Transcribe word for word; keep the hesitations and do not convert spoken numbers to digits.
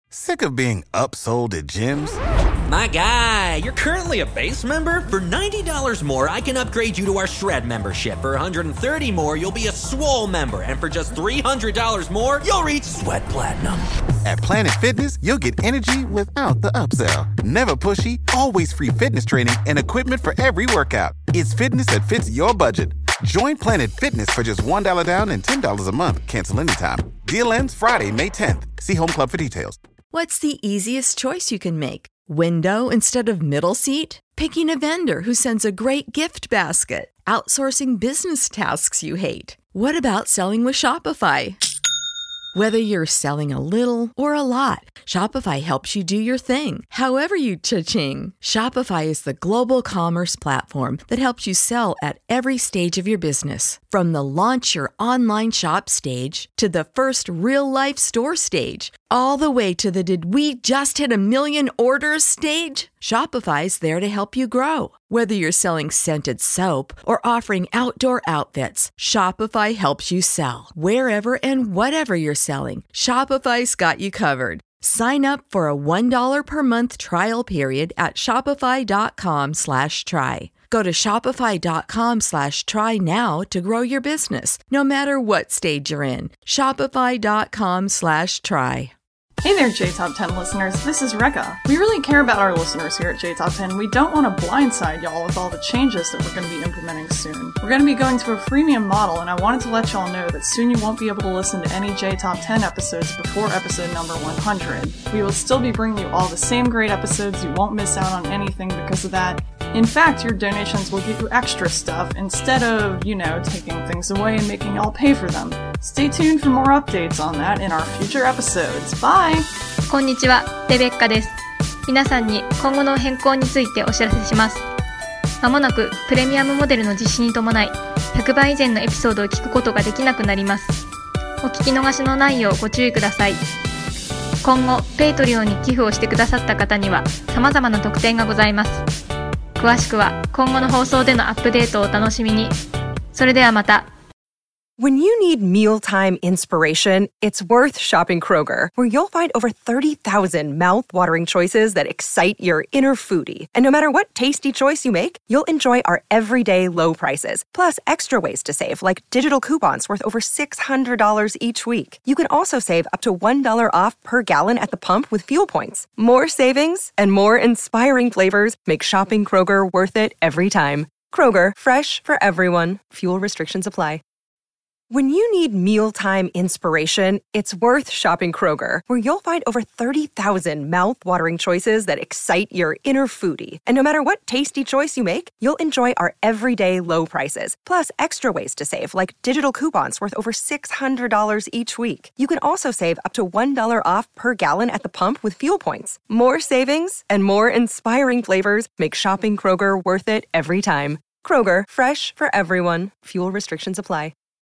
Sick of being upsold at gyms? My guy, you're currently a base member? For ninety dollars more, I can upgrade you to our Shred membership. For one hundred thirty dollars more, you'll be a Swole member. And for just three hundred dollars more, you'll reach Sweat Platinum. At Planet Fitness, you'll get energy without the upsell. Never pushy, always free fitness training and equipment for every workout. It's fitness that fits your budget. Join Planet Fitness for just one dollar down and ten dollars a month. Cancel anytime. Deal ends Friday, May tenth. See Home Club for details. What's the easiest choice you can make? Window instead of middle seat? Picking a vendor who sends a great gift basket? Outsourcing business tasks you hate? What about selling with Shopify? Whether you're selling a little or a lot, Shopify helps you do your thing, however you cha-ching. Shopify is the global commerce platform that helps you sell at every stage of your business. From the launch your online shop stage to the first real-life store stage, all the way to the did we just hit a million orders stage. Shopify's there to help you grow. Whether you're selling scented soap or offering outdoor outfits, Shopify helps you sell. Wherever and whatever you're selling, Shopify's got you covered. Sign up for a one dollar per month trial period at shopify.com slash try. Go to shopify.com slash try now to grow your business, no matter what stage you're in. Shopify.com slash try. Hey there, J Top ten listeners. This is Rekka. We really care about our listeners here at J Top ten. We don't want to blindside y'all with all the changes that we're going to be implementing soon. We're going to be going to a freemium model, and I wanted to let y'all know that soon you won't be able to listen to any J Top ten episodes before episode number one hundred. We will still be bringing you all the same great episodes. You won't miss out on anything because of that. In fact, your donations will get you extra stuff instead of, you know, taking things away and making y'all pay for them. Stay tuned for more updates on that in our future episodes. Bye! こんにちは、レベッカです。皆さんに今後の変更についてお知らせします。まもなくプレミアムモデルの実施に伴い、ひゃくばい以前のエピソードを聞くことができなくなります。お聞き逃しのないようご注意ください。今後、ペイトリオンに寄付をしてくださった方には様々な特典がございます。詳しくは今後の放送でのアップデートをお楽しみに。それではまた。 When you need mealtime inspiration, it's worth shopping Kroger, where you'll find over thirty thousand mouth-watering choices that excite your inner foodie. And no matter what tasty choice you make, you'll enjoy our everyday low prices, plus extra ways to save, like digital coupons worth over six hundred dollars each week. You can also save up to one dollar off per gallon at the pump with fuel points. More savings and more inspiring flavors make shopping Kroger worth it every time. Kroger, fresh for everyone. Fuel restrictions apply. When you need mealtime inspiration, it's worth shopping Kroger, where you'll find over thirty thousand mouth-watering choices that excite your inner foodie. And no matter what tasty choice you make, you'll enjoy our everyday low prices, plus extra ways to save, like digital coupons worth over six hundred dollars each week. You can also save up to one dollar off per gallon at the pump with fuel points. More savings and more inspiring flavors make shopping Kroger worth it every time. Kroger, fresh for everyone. Fuel restrictions apply.